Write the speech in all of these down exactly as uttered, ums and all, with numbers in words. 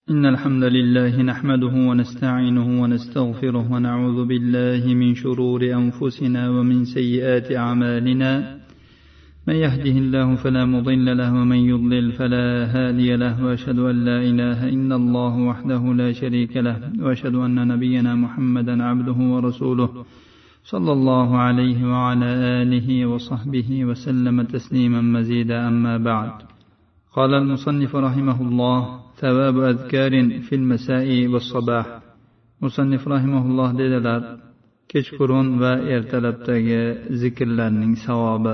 إن الحمد لله نحمده ونستعينه ونستغفره ونعوذ بالله من شرور أنفسنا ومن سيئات أعمالنا. من يهده الله فلا مضل له ومن يضلل فلا هادي له، وأشهد أن لا إله إلا الله وحده لا شريك له، وأشهد أن نبينا محمدا عبده ورسوله صلى الله عليه وعلى آله وصحبه وسلم تسليما مزيدا. أما بعد، قال المصنف رحمه الله: ثواب أذكار في المساء والصباح. مصنف رحمه الله dedilar, kechqurun va ertalabdagi zikrlarning savobi.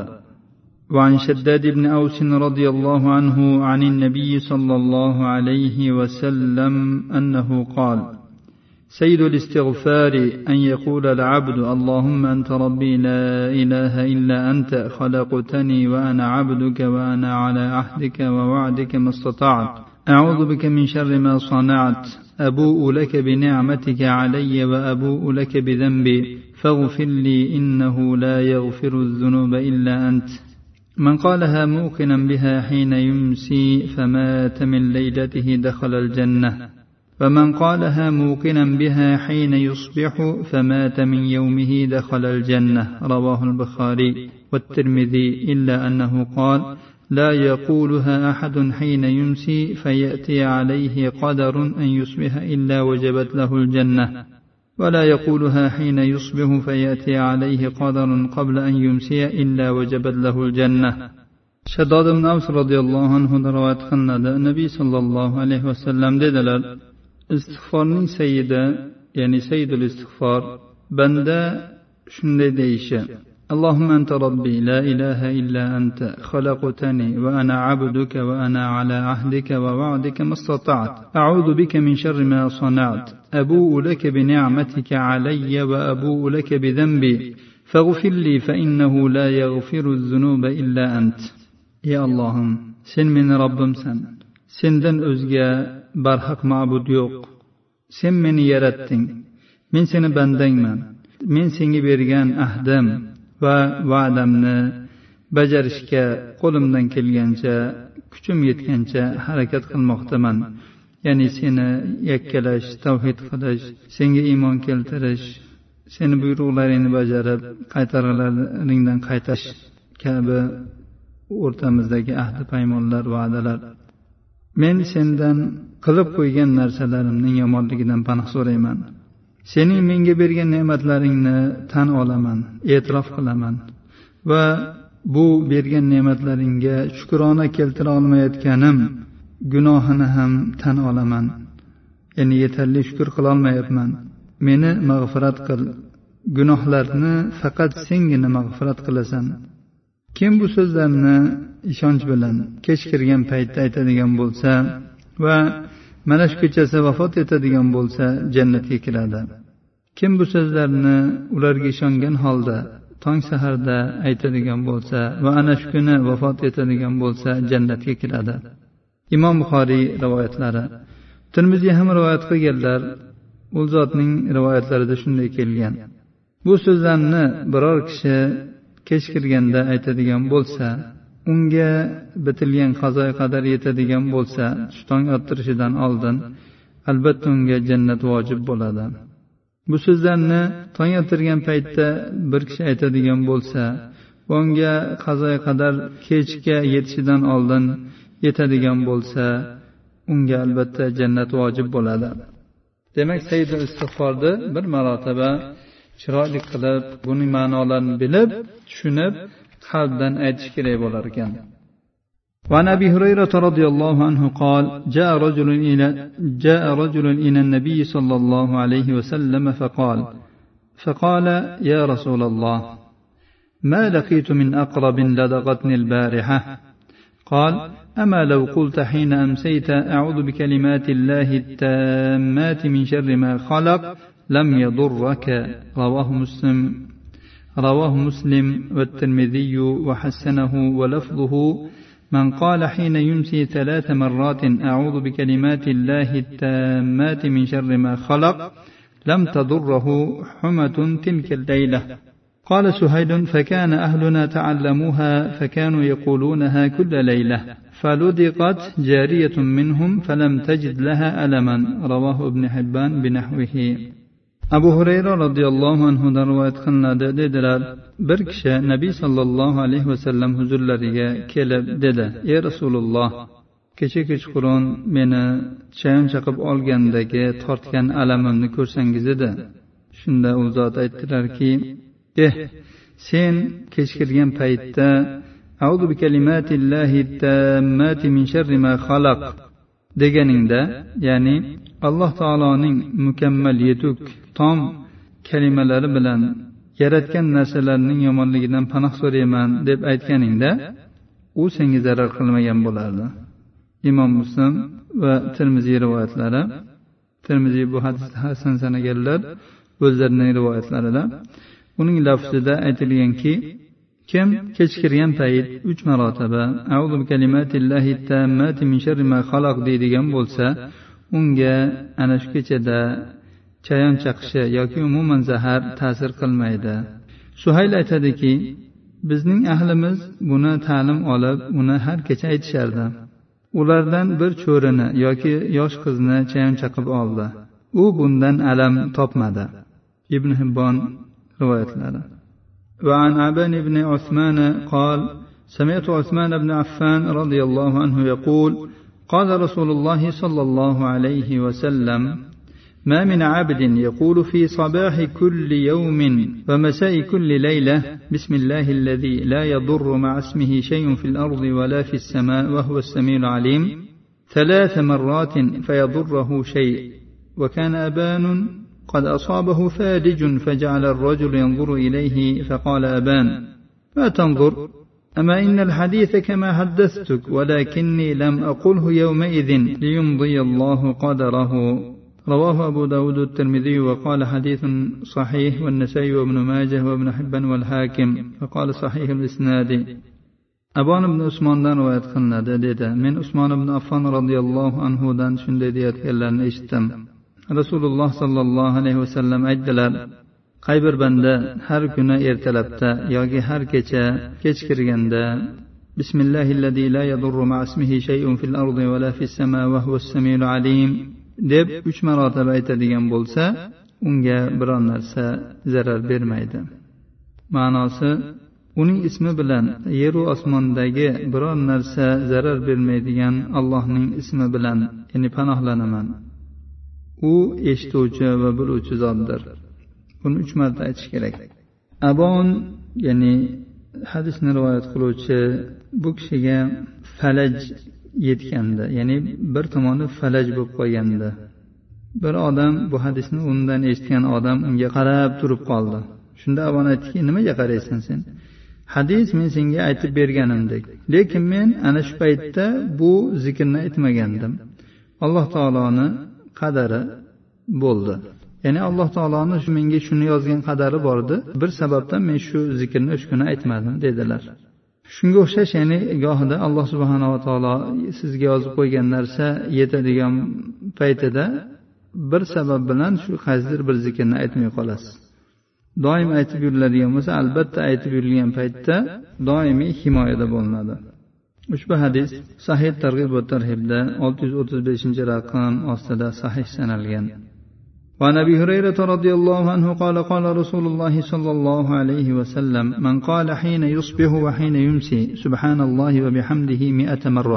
وعن شداد بن أوس رضي الله عنه عن النبي صلى الله عليه وسلم أنه قال: سيد الاستغفار أن يقول العبد: اللهم أنت ربي لا إله إلا أنت، خلقتني وأنا عبدك وأنا على عهدك ووعدك ما استطعت، أعوذ بك من شر ما صنعت، أبوء لك بنعمتك علي وأبوء لك بذنبي فاغفر لي إنه لا يغفر الذنوب إلا أنت. من قالها موقنا بها حين يمسي فمات من ليلته دخل الجنة، ومن قالها موقنا بها حين يصبح فمات من يومه دخل الجنة. رواه البخاري والترمذي، إلا أنه قال: لا يقولها أحد حين يمسي فيأتي عليه قدر أن يصبح إلا وجبت له الجنة، ولا يقولها حين يصبح فيأتي عليه قدر قبل أن يمسي إلا وجبت له الجنة. شداد بن أوس رضي الله عنه روايت قiladi. Nabiy sallallohu alayhi vasallam dedilar, istig'forning sayyidi, ya'ni sayyidul istig'for, banda shunday deyishi: اللهم أنت ربي لا إله إلا أنت، خلقتني وأنا عبدك وأنا على عهدك ووعدك ما استطعت، أعوذ بك من شر ما صنعت، أبوء لك بنعمتك علي وأبوء لك بذنبي فاغفر لي فإنه لا يغفر الذنوب إلا أنت. يا اللهم، sen meni Robbimsan, sendan o'zga barhaq ma'bud yo'q. Sen meni yaratding, men seni bandangman. Men senga bergan ahdim va va'damni bajarishga qo'limdan kelgancha, kuchim yetgancha harakat qilmoqdaman. Ya'ni seni yakkalash, tavhid qilish, senga iymon keltirish, seni buyruqlaringni bajarib qaytarganlaringdan qaytash kabi o'rtamizdagi ahdi paymonlar, va'dalar. Men sendan qilib qo'ygan narsalarimning yomonligidan panoh so'rayman. Sening menga bergan ne'matlaringni tan olaman, e'tirof qilaman va bu bergan ne'matlaringga shukrona keltira olmayotganim gunohini ham tan olaman. Ya'ni yetarli shukr qila olmayapman. Meni mag'firat qil. Gunohlarni faqat sengina mag'firat qilasan. Kim bu so'zlarni ishonch bilan kech kirgan paytda aytadigan bo'lsa va mana shu kechasi vafot etadigan bo'lsa jannatga kiradi. Kim bu so'zlarni ularga ishongan holda tong saharda aytadigan bo'lsa va ana shu kuni vafot etadigan bo'lsa jannatga kiradi. Imom Buxoriy rivoyatlari. Tirmiziy ham rivoyat qilganlar. U zotning rivoyatlarida shunday kelgan: bu so'zlarni biror kishi kech kirganda aytadigan bo'lsa, unga bitilgan qazo qadar yetadigan bo'lsa, tong ottirishidan oldin albatta unga jannat vojib bo'ladi. Bu so'zlarni tong ottirgan paytda bir kishi aytadigan bo'lsa, unga qazo qadar kechga yetishidan oldin yetadigan bo'lsa, unga albatta jannat vojib bo'ladi. Demak, sayyidul istig'forni bir marotaba chiroyli qilib, buning ma'nolarini bilib, tushunib, qalbdan aytish kerak bo'lar ekan. وعن أبي هريرة رضي الله عنه قال: جاء رجل إلى جاء رجل إلى النبي صلى الله عليه وسلم فقال فقال يا رسول الله، ما لقيت من أقرب لدغتني البارحة. قال: أما لو قلت حين أمسيت أعوذ بكلمات الله التامات من شر ما خلق لم يضرك. رواه مسلم رواه مسلم والترمذي وحسنه، ولفظه: من قال حين يمسي ثلاث مرات أعوذ بكلمات الله التامات من شر ما خلق لم تضره حمة تلك الليلة. قال سهيل: فكان أهلنا تعلموها فكانوا يقولونها كل ليلة، فلدقت جارية منهم فلم تجد لها ألما رواه ابن حبان بنحوه. abu hurayra roziyallohu anhudan rivoyat qilinadi dedilar, bir kishi nabiy sollallohu alayhi vasallam huzurlariga kelib dedi: ey rasululloh, kecha kechqurun meni chayon chaqib olgandagi tortgan alamimni ko'rsangiz edi. Shunda u zot aytdilarki: eh sen kechkirgan paytda a'udhu bi kalimatillahi tammati min sharri ma xalaq deganingda, ya'ni alloh taoloning mukammal yetuk tom kalimalari bilan yaratgan narsalarning yomonligidan panoh so'rayman deb aytganingda, u senga zarar qilmagan bo'lardi. Imom Muslim va Termiziy rivoyatlari. Termiziy bu hadisni hasan sanaganlar o'zlarining rivoyatlarida. Uning lafzida aytilganki, kim kechkirgan payt uch marotaba a'udhu bi kalimatillahi tammati min sharri ma xalaq deydigan bo'lsa, unga ana shu kechada chayon chaqishi yoki umuman zahar ta'sir qilmaydi. Suhayl aytadiki, bizning ahlimiz buni ta'lim olib, uni har kecha aytishardi. Ulardan bir cho'rini yoki yosh qizni chayon chaqib oldi. U bundan alam topmadi. Ibn Hibbon rivoyatlari. Va an Aban ibn Uthman قال سمعت عثمان بن عفان رضي الله عنه يقول قال رسول الله صلى الله عليه وسلم ما من عبد يقول في صباح كل يوم ومساء كل ليلة بسم الله الذي لا يضر مع اسمه شيء في الأرض ولا في السماء وهو السميع العليم ثلاث مرات فيضره شيء وكان أبان قد أصابه فادج فجعل الرجل ينظر إليه فقال أبان ما تنظر أما إن الحديث كما حدثتك ولكني لم أقله يومئذ ليمضي الله قدره. رواه أبو داود الترمذي وقال حديث صحيح والنسائي وابن ماجه وابن حبان والحاكم فقال صحيح الإسناد. Abon ibn Usmondan rivoyat qilinadi dedi. Men Usmon ibn Affon radhiyallohu anhu dan shunday deyotganlarini eshitdim. Rasululloh sallallohu alayhi vasallam aytdilar: qay bir banda har kuni ertalabda yoki har kecha kechkirganda Bismillahillazi la yadurru ma'a ismihi shay'un fil ardi wa la fis samai wa huwas samiul alim deb uch marotaba aytadigan bo'lsa, unga biror narsa zarar bermaydi. Ma'nosi, uning ismi bilan yer va osmondagi biror narsa zarar bermaydigan Allohning ismi bilan, ya'ni panohlanaman. U eshituvchi va biluvchi zotdir. Buni uch marta aytish kerak. Abon, ya'ni hadisni rivoyat qiluvchi, bu kishiga falaj yetganda, ya'ni bir tomoni falaj bo'lib qolganda, bir odam bu hadisni undan eshitgan odam unga qarab turib qoldi. Shunda Abon aytdiki: nimaga qaraysan sen? Hadis men senga aytib berganimdek, lekin men ana shu paytda bu zikrni aytmagandim. Alloh taoloning qadari bo'ldi. Ya'ni Alloh taoloning shu menga shuni yozgan qadari bor edi. Bir sababdan men shu zikrni o'sha kuni aytmadim dedilar. Shunga o'xshash, ya'ni gohida Alloh subhanahu va taolo sizga yozib qo'ygan narsa yetadigan paytida bir sabab bilan shu qaysidir bir zikrni aytmay qolasiz. Doim aytib yuriladigan bo'lsa, albatta aytib yurilgan paytda doimiy himoyada bo'linadi. Ushbu hadis Sahih Targ'ib va Tarhibda olti yuz o'ttiz beshinchi raqam ostida sahih sanalgan. وعن أبي هريرة رضي الله عنه قال قال رسول الله صلى الله عليه وسلم من قال حين يصبح وحين يمسي سبحان الله وبحمده مئة مرة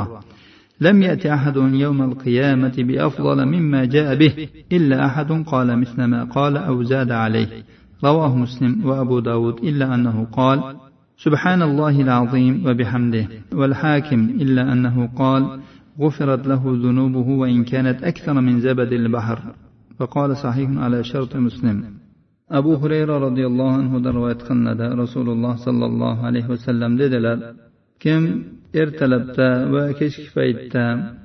لم يأت أحد يوم القيامة بأفضل مما جاء به إلا أحد قال مثل ما قال أو زاد عليه. رواه مسلم وأبو داود إلا أنه قال سبحان الله العظيم وبحمده، والحاكم إلا أنه قال غفرت له ذنوبه وإن كانت أكثر من زبد البحر. وقال صحيح على شرط مسلم. أبو هريرة رضي الله عنه رواية قلنا رسول الله صلى الله عليه وسلم dedilar: kim ertalabda va kechki paytda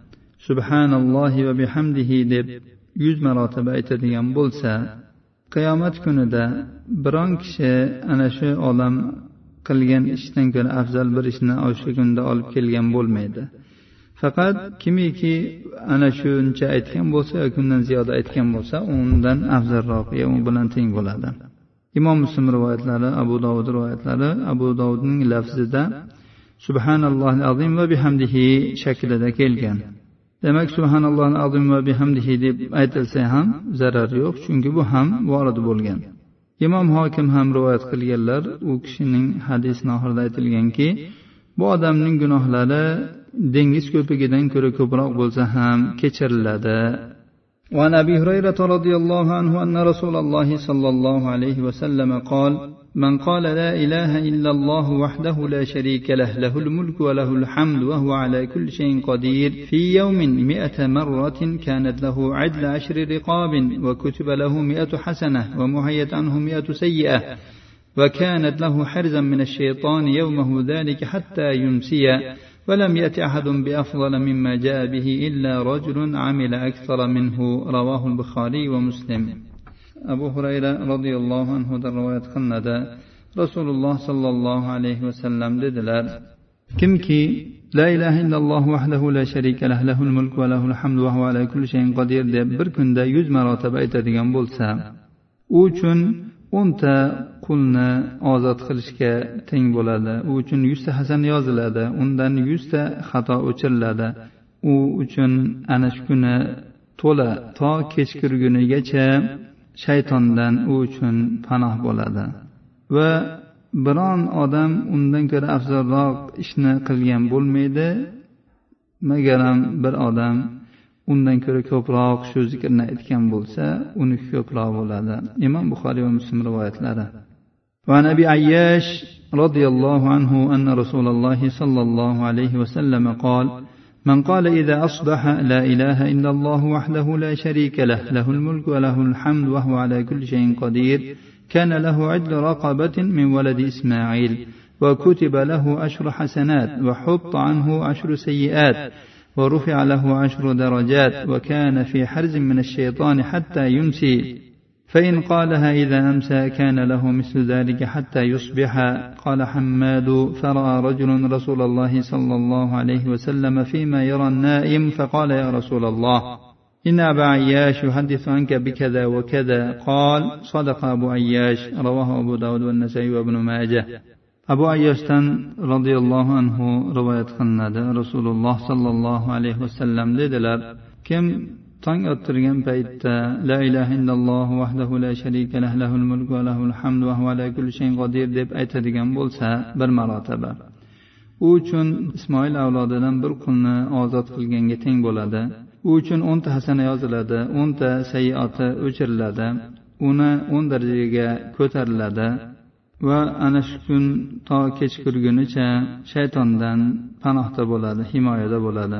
subhanallohi va bihamdihi deb yuz marotaba aytadigan bo'lsa, qiyomat kunida biron kishi ana shu odam qilgan ishdan ko'ra afzal bir ishni o'sha kunda olib kelgan bo'lmaydi. Faqat kimiki ana shuncha aytgan bo'lsa yoki undan ziyoda aytgan bo'lsa, undan afzalroq, u bilan teng bo'ladi. Imom Muslim rivoyatlari, Abu Dovud rivoyatlari, Abu Dovudning lafzida subhanallohil azim va bihamdihi shaklida kelgan. Demak, subhanallohil azim va bihamdihi deb aytilsa ham zarar yo'q, chunki bu ham vorid bo'lgan. Imom Hokim ham rivoyat qilganlar, u kishining hadisning oxirida aytilganki, bu odamning gunohlari dengiz ko'pigidan ko'ra ko'proq bo'lsa ham kechiriladi. وعن أبي هريرة رضي الله عنه أن رسول الله صلى الله عليه وسلم قال: من قال لا إله إلا الله وحده لا شريك له له الملك وله الحمد وهو على كل شيء قدير في يوم مئة مرة كانت له عدل عشر رقاب وكتب له مئة حسنة ومحيت عنه مئة سيئة وكانت له حرزا من الشيطان يومه ذلك حتى يمسي ولم يأت أحد بأفضل مما جاء به إلا رجل عمل أكثر منه. رواه البخاري ومسلم. أبو هريرة رضي الله عنه رواية قلنا رسول الله صلى الله عليه وسلم dediler: kimki la ilaha illalloh vahdahu la sharika lah lahul mulk va lahul hamdu va huva ala kulli shay'in qodir deb bir kunda yuz marotaba aytadigan bo'lsa, u uchun o'nta qulni ozod qilishga teng bo'ladi. U uchun yuzta hasan yoziladi, undan yuzta xato o'chiriladi. U uchun ana shu kuni to'la to kechqurgunigacha shaytondan u uchun panoh bo'ladi va biron odam undan ko'ra afzalroq ishni qilgan bo'lmaydi, magaram bir odam undan ko'ra ko'proq shu zikrni aytgan bo'lsa, uniki ko'proq bo'ladi. Imom Buxoriy va Muslim rivoyatlari. Va Nabi Ayyash radhiyallohu anhu anna Rasululloh sallallohu alayhi va sallam qol: من قال إذا أصبح لا إله إلا الله وحده لا شريك له له الملك وله الحمد وهو على كل شيء قدير كان له عدل رقبة من ولد إسماعيل وكتب له عشر حسنات وحط عنه عشر سيئات ورفع له عشر درجات وكان في حرز من الشيطان حتى يمسي فإن قالها إذا أمسى كان له مثل ذلك حتى يصبح. قال حماد: فرأى رجل رسول الله صلى الله عليه وسلم فيما يرى النائم فقال: يا رسول الله إن أبا عياش يحدث عنك بكذا وكذا. قال: صدق أبو عياش. رواه أبو داود والنسائي وابن ماجه. أبو عياش رضي الله عنه رواية قلنا رسول الله صلى الله عليه وسلم dediler: kim tong ottirgan paytda la ilaha illalloh vahdahu la sharika lah lahul mulk va lahul hamdu va huva ala kulli shay'in qodir deb aytadigan bo'lsa bir marotaba, u uchun Ismoil avlodidan bir qulni ozod qilganga teng bo'ladi. U uchun o'nta hasana yoziladi, o'nta sayyiati o'chiriladi, uni o'n darajaga ko'tariladi va ana shu kun to kechqurgunicha shaytondan panohda bo'ladi, himoyada bo'ladi.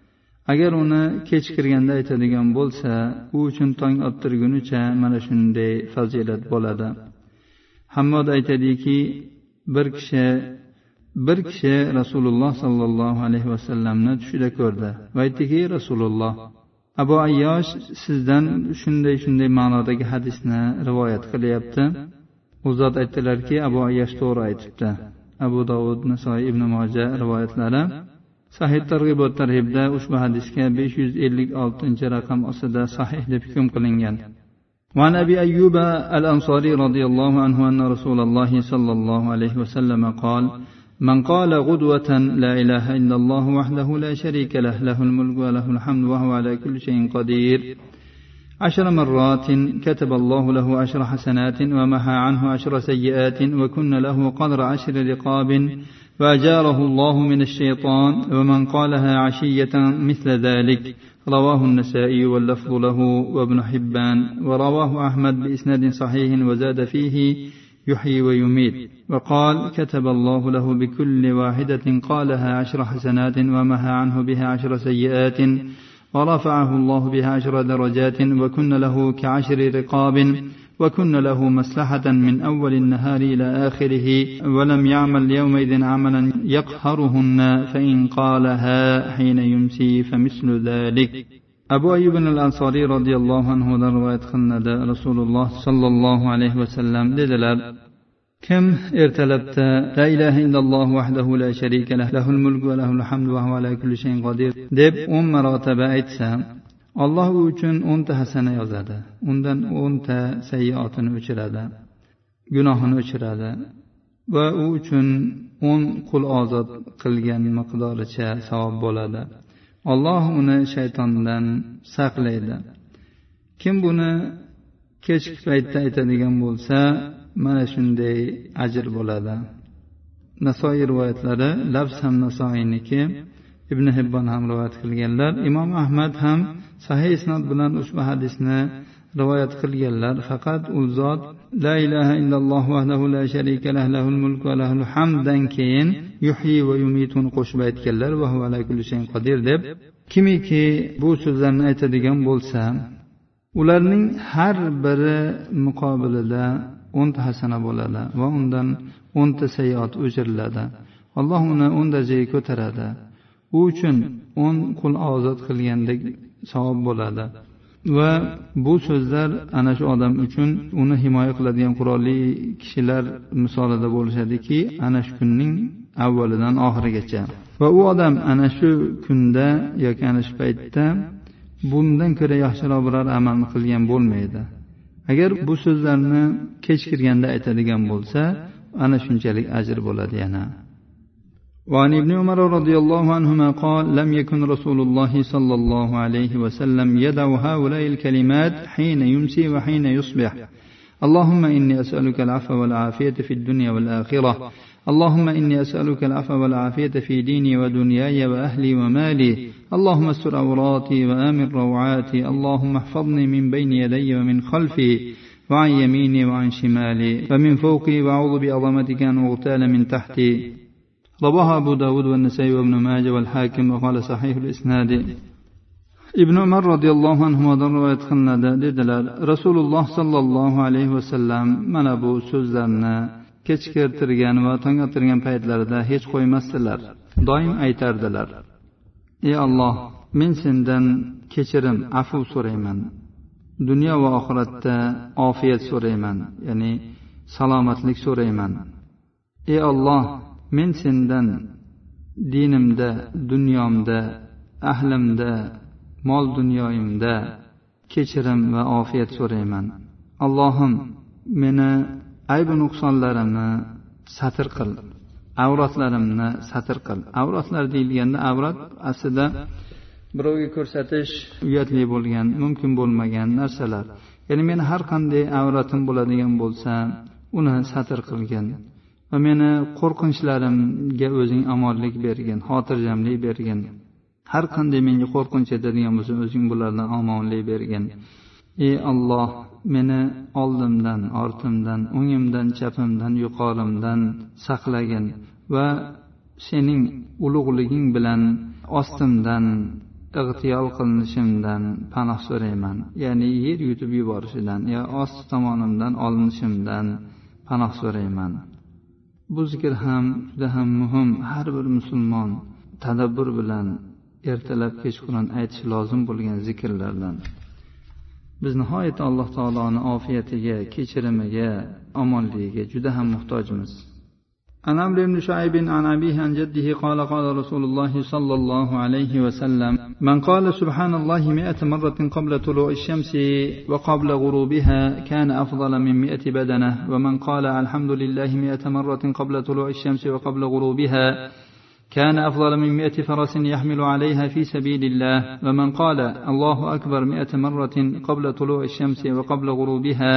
Agar uni kechqurganda aytadigan bo'lsa, u uchun tong ottirgunicha mana shunday fazilat bo'ladi. Hammod aytadiki, bir kishi bir kishi Rasululloh sallallohu alayhi vasallamni tushida ko'rdi va aytdiki: Rasululloh, Abu Ayyosh sizdan shunday shunday ma'nodagi hadisni rivoyat qilyapti. U zot aytdilarki, Abu Ayyosh to'g'ri aytibdi. Abu Dovud, Nasoiy, Ibn Majah rivoyatlari. Sahih Targ'ibot tarhibda ushbu hadisga besh yuz ellik oltinchi raqam ostida sahih deb hukm qilingan. Va Nabi Ayyub al-Ansari radhiyallohu anhu anna Rasululloh sallallohu alayhi va sallam qol: من قال غدوة لا إله إلا الله وحده لا شريك له له الملك وله الحمد وهو على كل شيء قدير عشر مرات كتب الله له عشر حسنات ومحى عنه عشر سيئات وكن له قدر عشر رقاب وأجاره الله من الشيطان. ومن قالها عشية مثل ذلك. رواه النسائي واللفظ له وابن حبان ورواه أحمد بإسناد صحيح وزاد فيه يحيي ويميت. وقال: كتب الله له بكل واحدة قالها عشر حسنات ومحى عنه بها عشر سيئات ورفعه الله بها عشر درجات وكن له كعشر رقاب وكن له مصلحة من أول النهار إلى آخره ولم يعمل يومئذ عملا يقهرهن فإن قالها حين يمسي فمثل ذلك. Abu Ayyub al-Ansari radhiyallohu anhu dan rivoyat qilinadi. Rasululloh sallallohu alayhi va sallam dedilar: kim ertalabda la ilaha illalloh vahdahu la sharika lah lahul mulku va lahul hamdu va huva ala kulli shay'in qodir deb o'n marotaba aytsa, Alloh u uchun o'nta hasana yozadi, undan o'nta sayyiatini o'chiradi, gunohini o'chiradi va u uchun o'n qul ozod qilgan miqdoricha savob bo'ladi. Alloh uni shaytondan saqlaydi. Kim buni kechki paytda aytadigan bo'lsa, mana shunday ajr bo'ladi. Nasoiy rivoyatlari, lafz ham Nasoiyniki, Ibn Hibbon ham rivoyat qilganlar. Imom Ahmad ham sahih isnod bilan ushbu hadisni rivoyat qilganlar. Faqat u zot la ilaha illalloh vahdahu la sharika lahu lahul mulku va lahul hamdan keyin yuhyi va yumitun qo'shib aytganlar va huva ala kulli shay'in qodir deb. Kimiki bu so'zlarni aytadigan bo'lsa, ularning har biri muqobilida o'n ta hasana bo'ladi va undan o'n ta sayyiat o'chiriladi. Alloh uni o'n darajaga ko'taradi. U uchun o'n qul ozod qilgandek savob bo'ladi. Va bu so'zlar ana shu odam uchun uni himoya qiladigan qurolli kishilar misolida bo'lishadiki, ana shu kunning avvalidan oxirigacha. Va u odam ana shu kunda yoki ana shu paytda bundan ko'ra yaxshiroq biror amalni qilgan bo'lmaydi. Agar bu so'zlarni kechikirganda aytadigan bo'lsa, ana shunchalik ajr bo'ladi yana. وعن ابن عمر رضي الله عنهما قال لم يكن رسول الله صلى الله عليه وسلم يدع هؤلاء الكلمات حين يمسي وحين يصبح اللهم إني أسألك العفو والعافية في الدنيا والآخرة اللهم إني أسألك العفو والعافية في ديني ودنياي وأهلي ومالي اللهم استر عوراتي وآمن روعاتي اللهم احفظني من بين يدي ومن خلفي وعن يميني وعن شمالي ومن فوقي وأعوذ بعظمتك أن أغتال من تحتي. رواه أبو داود والنسائي وابن ماجه والحاكم وقال صحيح الإسناد. ابن عمر رضي الله عنهما رواية قلنا dedilar, Rasululloh sallallohu alayhi vasallam mana bu so'zlarni kechiktirgan va tongottirgan paytlarida hech qo'ymasdilar. Doim aytardilar: Ey Alloh, men sendan kechirim, afv so'rayman. Dunyo va oxiratda ofiyat so'rayman, ya'ni salomatlik so'rayman. Ey Alloh, men sendan dinimda, dunyomda, ahlimda, mol dunyoyimda kechirim va ofiyat so'rayman. Allohim, meni ayb nuqsonlarimni satr qil, avratlarimni satr qil. Avratlar deyilganda, avrat aslida birovga ko'rsatish uyatli bo'lgan, mumkin bo'lmagan narsalar. Ya'ni men har qanday avratim bo'ladigan bo'lsa, uni satr qilgin. Va meni qo'rqinchlarimga o'zing omonlik bergin, xotirjamlik bergin. Har qanday menga qo'rqinch etadigan bo'lsa, o'zing bulardan omonlik bergin. Ey Alloh, meni oldimdan, ortimdan, o'ngimdan, chapimdan, yuqorimdan saqlagin va sening ulug'liging bilan ostimdan ig'tiyol qilinishimdan panoh so'rayman. Ya'ni yer yutib yuborishidan, yo ost tomonimdan olinishimdan panoh so'rayman. Bu zikr ham juda ham muhim. Har bir musulmon tadabbur bilan ertalab kechqurun aytish lozim bo'lgan zikrlardan. Biz nihoyat Alloh taoloning ofiyatiga, kechirimiga, omonligiga juda ham muhtojmiz. عن عمرو بن شعيب عن أبيه عن جده قال قال رسول الله صلى الله عليه وسلم من قال سبحان الله مئة مرة قبل طلوع الشمس وقبل غروبها كان أفضل من مئة بدنة ومن قال الحمد لله مئة مرة قبل طلوع الشمس وقبل غروبها كان أفضل من مئة فرس يحمل عليها في سبيل الله ومن قال الله أكبر مئة مرة قبل طلوع الشمس وقبل غروبها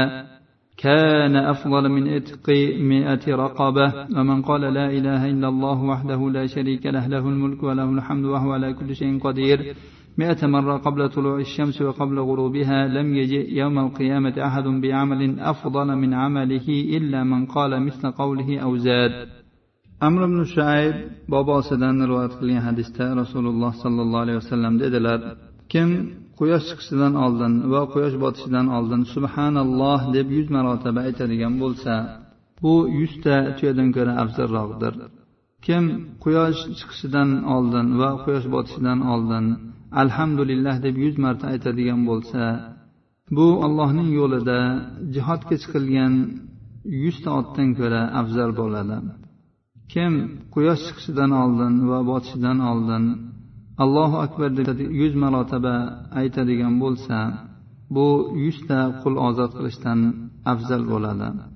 كان أفضل من إتق مئة رقبة ومن قال لا إله إلا الله وحده لا شريك له له الملك وله الحمد وهو على كل شيء قدير مئة مرة قبل طلوع الشمس وقبل غروبها لم يجئ يوم القيامة أحد بعمل أفضل من عمله إلا من قال مثل قوله أو زاد. Amr ibn Shuayb bobosidan rivoyat qilgan hadisda Rasululloh sallallohu alayhi vasallam dedilar: Kim quyosh chiqishidan oldin va quyosh botishidan oldin subhanalloh deb yuz marotaba aytadigan bo'lsa, bu yuz ta tuyadan ko'ra afzalroqdir. Kim quyosh chiqishidan oldin va quyosh botishidan oldin alhamdulillah deb yuz marta aytadigan bo'lsa, bu Allohning yo'lida jihodga chiqilgan yuz ta otdan ko'ra afzal bo'ladi. Kim quyosh chiqishidan oldin va botishidan oldin Allohu akbar deb yuz marotaba aytadigan bo'lsa, bu yuz ta qul ozod qilishdan afzal bo'ladi.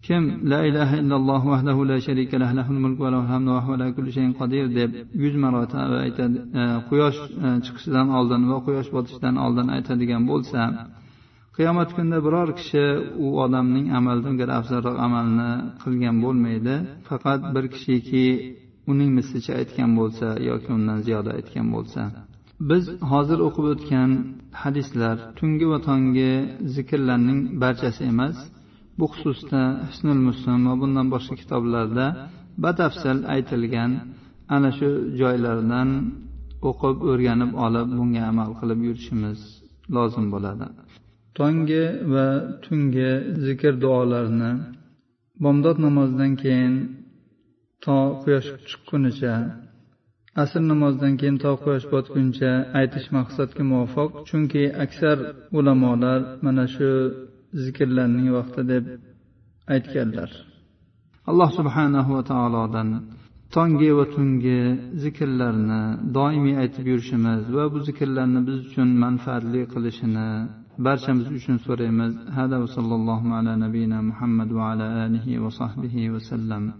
kim la ilaha illalloh vahdahu la sharika lahu lahul mulku va lahul hamdu va huva ala kulli shay'in qodir deb yuz marotaba aytadi, quyosh chiqishidan oldin va quyosh botishidan oldin aytadigan bo'lsa, qiyomat kunida biror kishi u odamning amalidan ko'ra afzalroq amalni qilgan bo'lmaydi, faqat bir kishiki uning mislicha aytgan bo'lsa yoki undan ziyoda aytgan bo'lsa. Biz hozir o'qib o'tgan hadislar tungi va tongi zikrlarning barchasi emas. Bu xususda Hisnul Muslim va bundan boshqa kitoblarda batafsil aytilgan ana shu joylardan o'qib o'rganib olib bunga amal qilib yurishimiz lozim bo'ladi. Tongi va tungi zikr duolarini bomdod namozidan keyin to quyosh chiqqunicha, asr namozidan keyin to quyosh botguncha aytish maqsadga muvofiq, chunki aksar ulamolar mana shu zikrlarning vaqti deb aytganlar. Alloh subhanahu va taolodan tongi va tungi zikrlarni doimiy aytib yurishimiz va bu zikrlarni biz uchun manfaatli qilishini barchamiz uchun so'raymiz. Hada va sallallohu ala nabiyina Muhammad va ala alihi va sahbihi va sallam.